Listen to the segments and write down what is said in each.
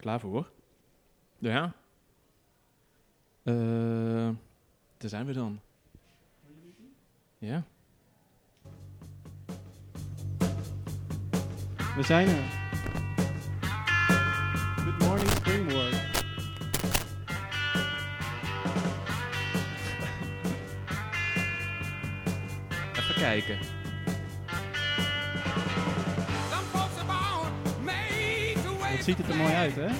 Klaar voor? Ja. Daar zijn we dan. Ja. We zijn er. Good morning, Springboard. Even kijken. Wat ziet het er mooi uit, hè?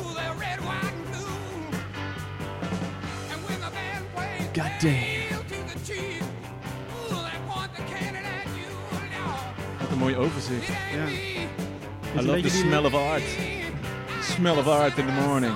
God damn. Wat een mooi overzicht. Ja. I love the smell of art. Smell of art in the morning.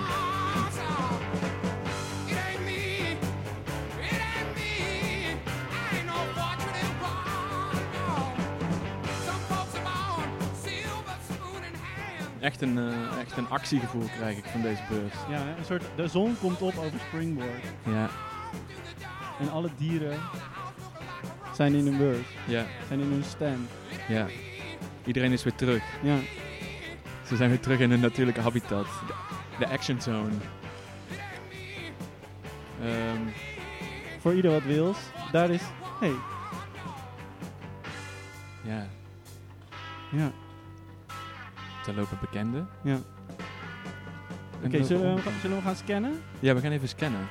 Echt een actiegevoel krijg ik van deze beurs. Ja, een soort, de zon komt op over Springboard. Ja. En alle dieren zijn in hun beurs. Ja. Zijn in hun stand. Ja. Iedereen is weer terug. Ja. Ze zijn weer terug in hun natuurlijke habitat. De action zone. Voor ieder wat wils. Daar is... Hey. Ja. Ja. Daar lopen bekenden. Ja. Oké, zullen we gaan scannen? Ja, we gaan even scannen.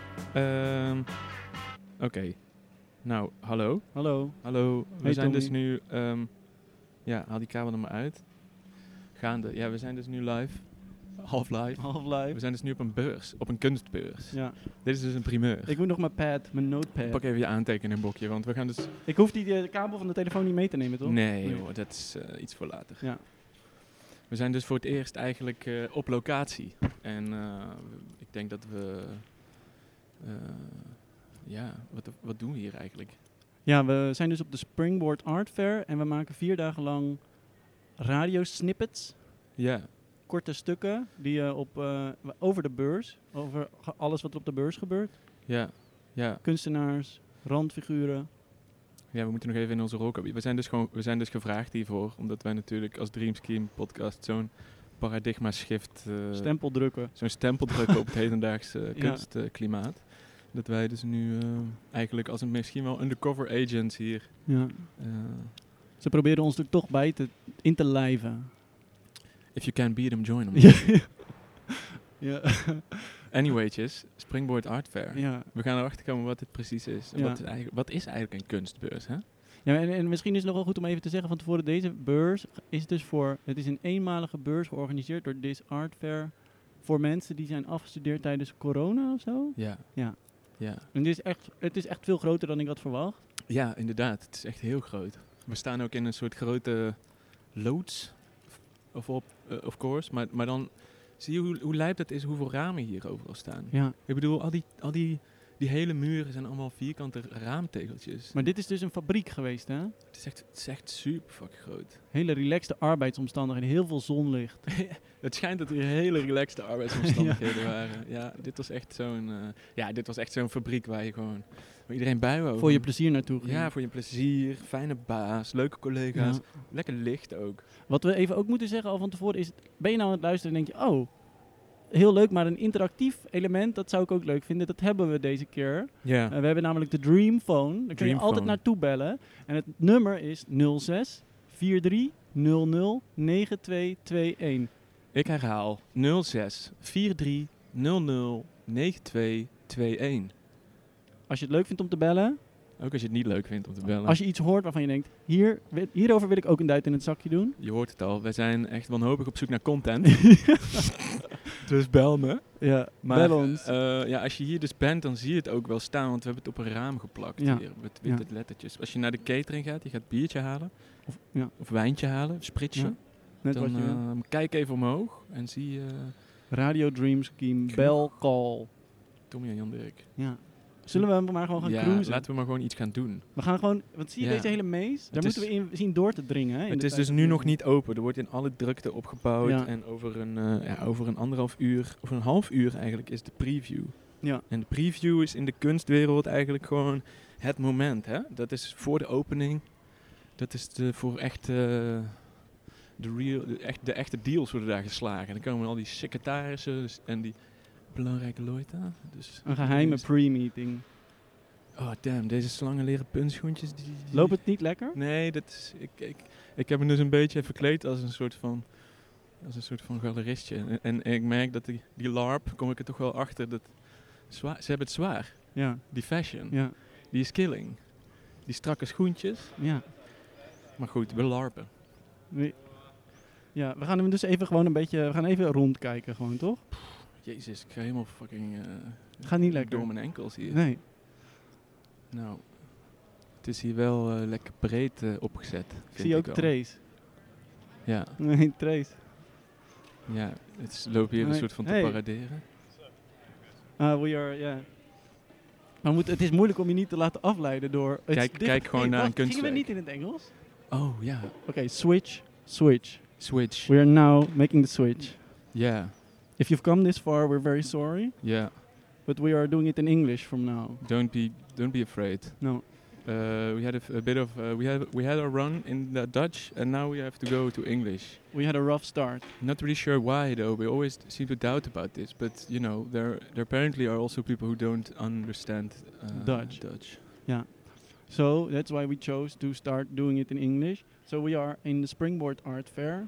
Oké. Nou, hallo. Hallo. Hallo. We Hey, zijn Tommy. dus nu... ja, haal die kabel er maar uit. Gaande. Ja, we zijn dus nu live. Half live. Half We live. zijn dus nu op een beurs. Op een kunstbeurs. Ja. Dit is dus een primeur. Ik moet nog mijn notepad. Pak even je aantekeningboekje, want we gaan dus... Ik hoef die kabel van de telefoon niet mee te nemen, toch? Nee joh, dat is iets voor later. Ja. We zijn dus voor het eerst eigenlijk op locatie. En ik denk dat we... ja, wat doen we hier eigenlijk? Ja, we zijn dus op de Springboard Art Fair en we maken 4 dagen lang radiosnippets. Ja, Korte stukken die over de beurs, over alles wat er op de beurs gebeurt. ja, ja. Kunstenaars, randfiguren. Ja, we moeten nog even in onze rol komen. We zijn dus gevraagd hiervoor, omdat wij natuurlijk als Dream Scheme podcast zo'n paradigma shift... Stempel drukken. zo'n stempel drukken op het hedendaagse kunstklimaat. Dat wij dus nu eigenlijk als een misschien wel undercover agents hier... Ja. Ze proberen ons er toch in te lijven. If you can't beat them, join them. Ja. Ja. Anyway'tjes, Springboard Art Fair. Ja. We gaan erachter komen wat dit precies is. En Ja. wat is eigenlijk een kunstbeurs, hè? Ja, en misschien is het nog wel goed om even te zeggen van tevoren, deze beurs is dus het is een eenmalige beurs georganiseerd door This Art Fair voor mensen die zijn afgestudeerd tijdens corona of zo. Ja. Ja. Ja. En het is echt veel groter dan ik had verwacht. Ja, inderdaad. Het is echt heel groot. We staan ook in een soort grote loods, of course. Maar dan zie je hoe lijp dat is, hoeveel ramen hier overal staan. Ja. Ik bedoel, al die hele muren zijn allemaal vierkante raamtegeltjes. Maar dit is dus een fabriek geweest, hè? Het is echt super fucking groot. Hele relaxte arbeidsomstandigheden, heel veel zonlicht. Het schijnt dat hier hele relaxte arbeidsomstandigheden waren. Ja, dit was echt zo'n fabriek waar iedereen bij wou. Voor je plezier naartoe ging. Ja, voor je plezier, fijne baas, leuke collega's, Ja. lekker licht ook. Wat we even ook moeten zeggen al van tevoren is, ben je nou aan het luisteren en denk je, oh, heel leuk, maar een interactief element, dat zou ik ook leuk vinden. Dat hebben we deze keer. Ja. We hebben namelijk de Dreamphone. Daar kun je Dreamphone. altijd naartoe bellen. En het nummer is 06 43 00 9221. Ik herhaal 06 43 00 9221. Als je het leuk vindt om te bellen, Ook als je het niet leuk vindt om te bellen. als je iets hoort waarvan je denkt, hierover wil ik ook een duit in het zakje doen. Je hoort het al, wij zijn echt wanhopig op zoek naar content. Dus bel me. Ja, Maar bel ons. ja, als je hier dus bent, dan zie je het ook wel staan, want we hebben het op een raam geplakt Ja. hier, met witte lettertjes. Als je naar de catering gaat, je gaat biertje halen, Ja, of wijntje halen, spritsje. Ja, net wat Dan je wil. kijk even omhoog en zie Radio Dream Scheme, bell call. Tommy en Jan Dirk. Ja. Zullen we maar gewoon gaan cruisen? Laten we maar gewoon iets gaan doen. We gaan gewoon, want zie je Ja. deze hele maze? Daar Het moeten we in zien door te dringen. Hè, in Het de is tijd dus dat nu we- nog niet open. Er wordt in alle drukte opgebouwd. Ja. En over een anderhalf uur, of een half uur eigenlijk, is de preview. Ja. En de preview is in de kunstwereld eigenlijk gewoon het moment. Hè? Dat is voor de opening. Dat is voor echt de echte deals worden daar geslagen. En dan komen al die secretarissen en die belangrijke leute. Dus Een geheime pre-meeting. oh damn, deze slangenleren puntschoentjes. Loopt het niet lekker? Nee, dat is, ik heb me dus een beetje verkleed als een soort van galeristje. En ik merk dat die LARP, kom ik er toch wel achter, dat ze hebben het zwaar. Ja. Die fashion, Ja. die is killing. Die strakke schoentjes. Ja. Maar goed, we larpen. Ja, we gaan hem dus even gewoon we gaan even rondkijken gewoon, toch? Jezus, ik ga helemaal fucking Gaat niet lekker. door mijn enkels hier. Nee. Nou, het is hier wel lekker breed opgezet. Ik zie ook wel. trays. Ja, Nee, trays. ja, lopen hier een Nee. soort van te Hey. paraderen. Maar het is moeilijk om je niet te laten afleiden door... Kijk gewoon naar een Gingen kunstwerk. we niet in het Engels? Oh ja, Oké, switch. Switch. switch. We are now making the switch. Yeah, If you've come this far, we're very sorry. yeah. But we are doing it in English from now. Don't be afraid. No. We had a bit of we had a run in the Dutch, and now we have to go to English. We had a rough start. Not really sure why though. We always seem to doubt about this, but you know, there apparently are also people who don't understand Dutch. Dutch. Yeah. So that's why we chose to start doing it in English. So we are in the Springboard Art Fair.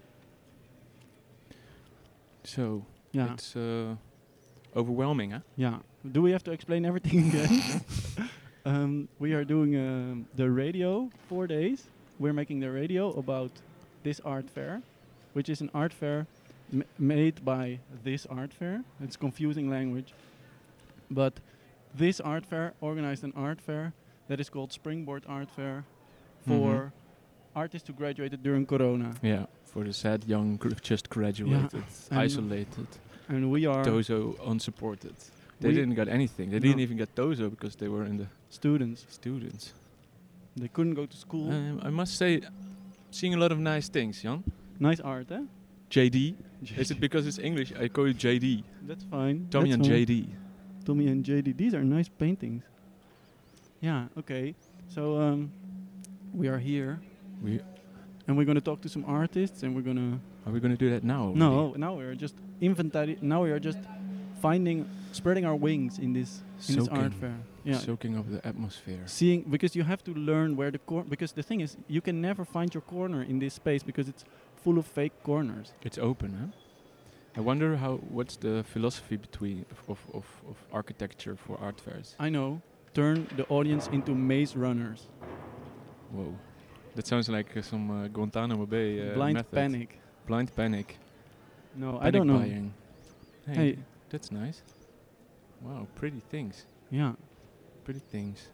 So Yeah. it's overwhelming, huh? Yeah. Do we have to explain everything again? We are doing the radio 4 days. We're making the radio about this art fair, which is an art fair made by this art fair. It's confusing language. But this art fair organized an art fair that is called Springboard Art Fair for artists who graduated during Corona. Yeah, for the sad young just graduated, And isolated, And we are Tozo unsupported. They We- didn't get anything. They No. didn't even get Tozo because they were in the students. students. They couldn't go to school. I must say, seeing a lot of nice things, Jan. Nice art, eh? JD. Is it because it's English? I call it JD. That's fine. Tommy That's and fine. JD. Tommy and JD. These are nice paintings. Yeah, okay. So we are here and we're going to talk to some artists and we're going to... Are we going to do that now? already? No, now we are just now we are just spreading our wings in this art fair. Yeah. Soaking up the atmosphere. Seeing, because you have to learn where because the thing is, you can never find your corner in this space because it's full of fake corners. It's open, huh? I wonder what's the philosophy of architecture for art fairs. I know. Turn the audience into maze runners. Whoa. That sounds like some Guantanamo Bay Blind method. panic. Blind panic. No, I Panic don't know. buying. Hey. That's nice. Wow, pretty things. Yeah. Pretty things.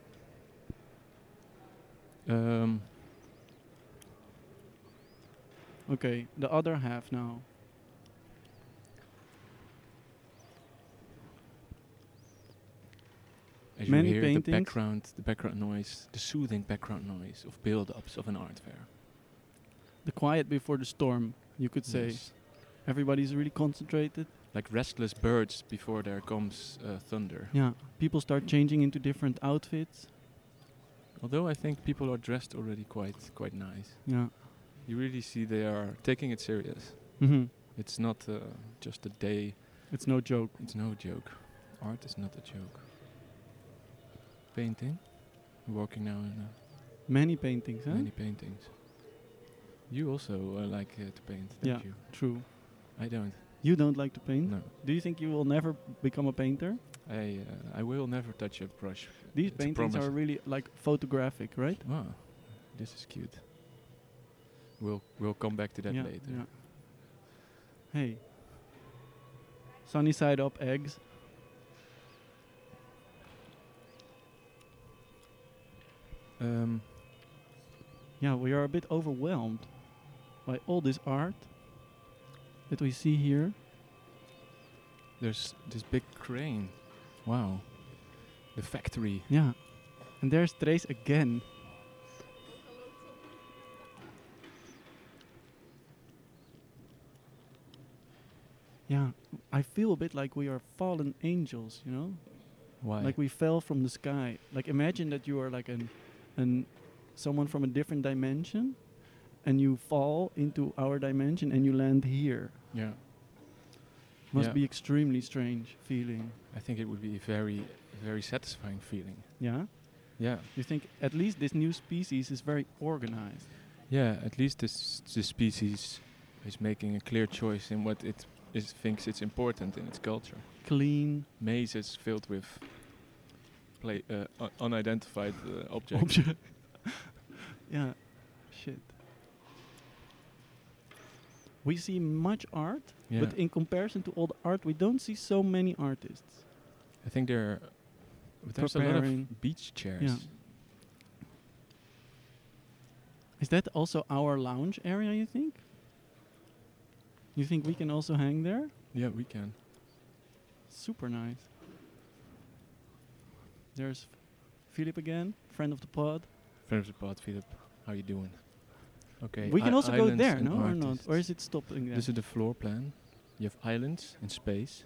Okay, the other half now. As Many you hear paintings. the background noise, the soothing background noise of build-ups of an art fair. The quiet before the storm, you could say. Yes. Everybody's really concentrated. Like restless birds before there comes thunder. Yeah. People start changing into different outfits. Although I think people are dressed already quite nice. Yeah. You really see they are taking it serious. Mm-hmm. It's not just a day. It's no joke. It's no joke. Art is not a joke. Painting. We're walking now in Many paintings, huh? many paintings. You also like to paint, don't Yeah. you? True. I don't. You don't like to paint? No. Do you think you will never become a painter? I will never touch a brush. These It's a paintings promise. are really like photographic, right? Wow, this is cute. We'll come back to that yeah, later. yeah. Hey. Sunny side up eggs. Yeah, we are a bit overwhelmed by all this art that we see here. There's this big crane. Wow. The factory. Yeah. And there's Trace again. Yeah, I feel a bit like we are fallen angels, you know? Why? Like we fell from the sky. Like imagine that you are like someone from a different dimension and you fall into our dimension and you land here. Yeah. Must Yeah. be extremely strange feeling. I think it would be a very, very satisfying feeling. Yeah? Yeah. You think at least this new species is very organized. Yeah, at least this species is making a clear choice in what it thinks it's important in its culture. Clean. Mazes filled with unidentified objects. Yeah. Shit. We see much art, Yeah. but in comparison to all the art, we don't see so many artists. I think there's a lot Preparing. of beach chairs. Yeah. Is that also our lounge area, you think? You think we can also hang there? Yeah, we can. Super nice. There's Philip again, friend of the pod. Friend of the pod, Philip. How you doing? Okay. We can also go islands there, and no, or not? artists. Or is it stopping there? This is the floor plan. You have islands in space.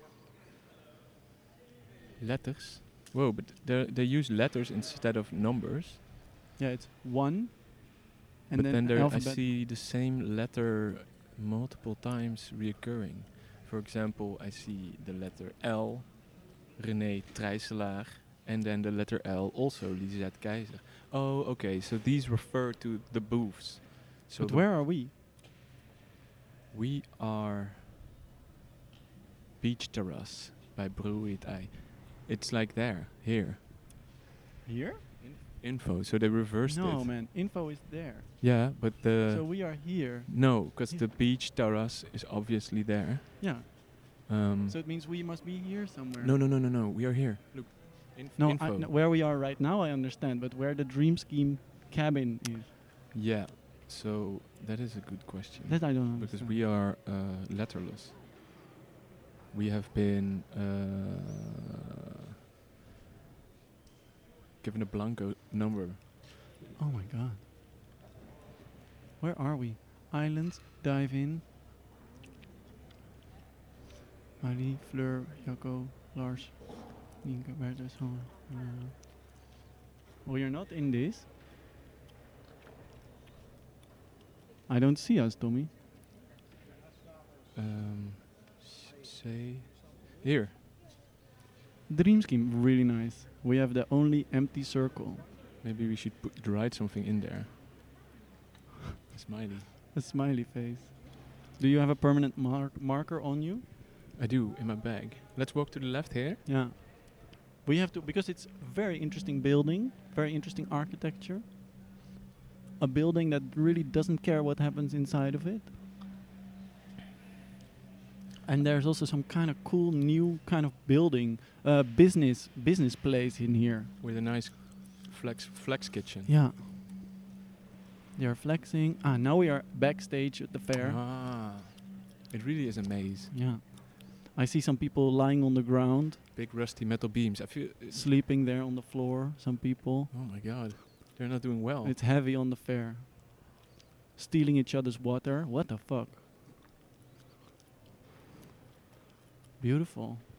Letters. Whoa, but they use letters instead of numbers. Yeah, it's 1. And But then, then there I alphabet. see the same letter multiple times reoccurring. For example, I see the letter L, René Trijselaar, and then the letter L, also Lisette Keizer. Oh, okay, so these refer to the booths. So But where are we? we are Beach Terrace by Brewery Het Ei. It's like there, here. Here? Info, so they reversed No, it. man. Info is there. Yeah, but So we are here. no, because Here. the beach terrace is obviously there. Yeah. Um, So it means we must be here somewhere. no, we are here. Look, No, info. where we are right now, I understand, but where the Dream Scheme cabin is, Yeah, so that is a good question. that I don't understand. Because we are letterless. We have been given a blanco number. Oh my god. Where are we? Islands, dive in. Marie, Fleur, Jacco, Lars, Nienke, Bertus, we are not in this. I don't see us, Tommy. Say here. Dream Scheme, really nice. We have the only empty circle. Maybe we should write something in there. A smiley. A smiley face. Do you have a permanent marker on you? I do, in my bag. Let's walk to the left here. Yeah. We have to, because it's very interesting building, very interesting architecture. A building that really doesn't care what happens inside of it. And there's also some kind of cool new kind of building, business place in here. With a nice flex kitchen. Yeah. They are flexing. Ah, now we are backstage at the fair. Ah, it really is a maze. Yeah. I see some people lying on the ground, Big rusty metal beams. I feel. sleeping there on the floor. Some people. Oh my god, they're not doing well. It's heavy on the fair. Stealing each other's water. What the fuck? Beautiful.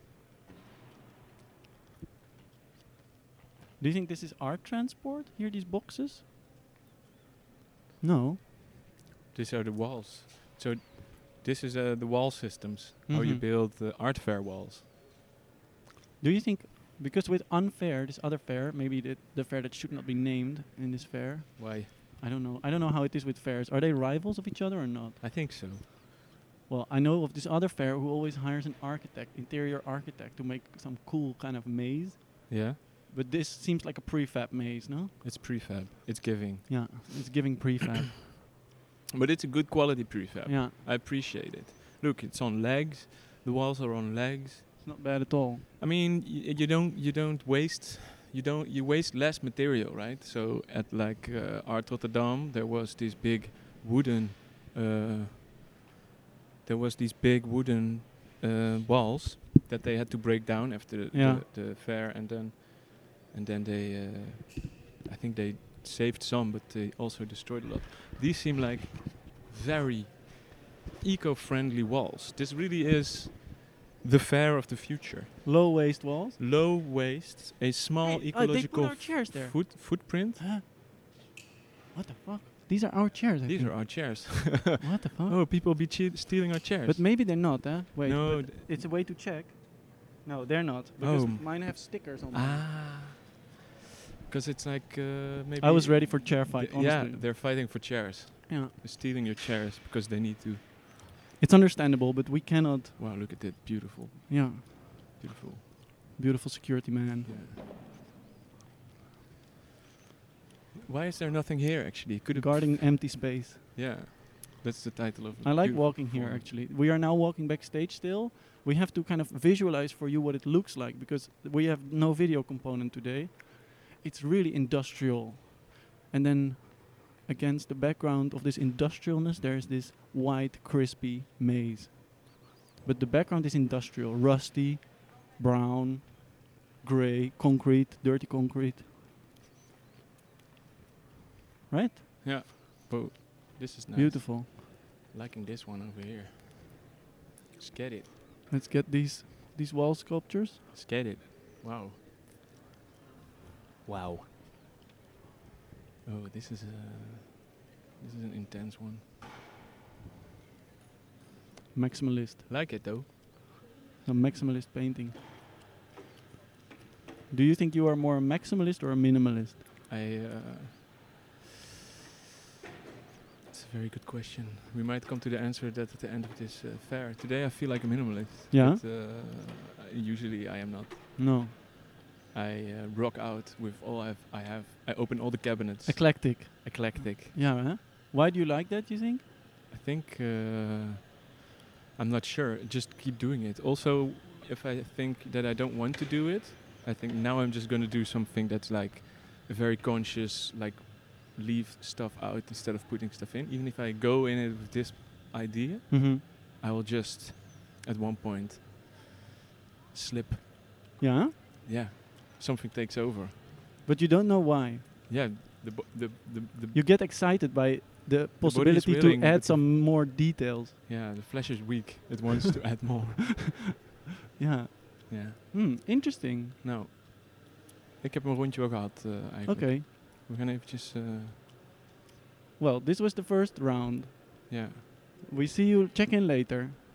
Do you think this is art transport? Here, these boxes? No. These are the walls. So this is the wall systems. How you Mhm. build the art fair walls. Do you think, because with unfair, this other fair, maybe the fair that should not be named in this fair, Why? I don't know. I don't know how it is with fairs. Are they rivals of each other or not? I think so. Well, I know of this other fair who always hires an architect, interior architect, to make some cool kind of maze. Yeah, But this seems like a prefab maze, no? it's prefab. It's giving, Yeah, it's giving prefab. but it's a good quality prefab. Yeah, I appreciate it. Look, it's on legs. The walls are on legs. it's not bad at all. I mean, you don't waste. You waste less material, right? So at like Art Rotterdam, there was this big wooden. There was these big wooden walls that they had to break down after Yeah. the fair, and then they. I think they saved some, but they also destroyed a lot. These seem like very eco-friendly walls. This really is the fair of the future. Low waist walls. Low waste, a small Hey, they ecological put our chairs there. footprint. Huh? What the fuck? These are our chairs, I These think. are our chairs. What the fuck? Oh, people be stealing our chairs. But maybe they're not, huh? Wait, No, but it's a way to check. No, they're not. Because Oh. mine have stickers on them. Ah. Because it's like maybe. I was ready for chair fight, Yeah, honestly. they're fighting for chairs. Yeah. They're stealing your chairs because they need to. It's understandable, but we cannot. Wow, look at that. Beautiful. Yeah. Beautiful. Beautiful security man. Yeah. Why is there nothing here actually? Could it Guarding empty space. Yeah. That's the title of the I like beautiful walking here, performance. actually. We are now walking backstage still. We have to kind of visualize for you what it looks like because we have no video component today. It's really industrial. And then against the background of this industrialness, there is this white, crispy maze. But the background is industrial, rusty, brown, gray, concrete, dirty concrete. Right? Yeah. Oh, this is nice. Beautiful. Liking this one over here. Let's get it. Let's get these wall sculptures. Let's get it. Wow. Wow. Oh, this is an intense one. Maximalist. Like it though. A maximalist painting. Do you think you are more a maximalist or a minimalist? It's a very good question. We might come to the answer that at the end of this fair. Today I feel like a minimalist. Yeah? But, usually I am not. No. I rock out with all I have. I open all the cabinets. Eclectic. Eclectic. Yeah, huh? Why do you like that, you think? I think I'm not sure. Just keep doing it. Also, if I think that I don't want to do it, I think now I'm just going to do something that's like very conscious, like leave stuff out instead of putting stuff in. Even if I go in it with this idea, Mm-hmm. I will just at one point slip. Yeah? Yeah, something takes over. But you don't know why. Yeah, the You get excited by the possibility to willing, add but the some more details. yeah, the flesh is weak. It wants to add more. Yeah. Yeah. Interesting. Nou, ik heb een rondje wel gehad eigenlijk. Okay. We gaan eventjes, Well, this was the first round. ja. We see you check in later.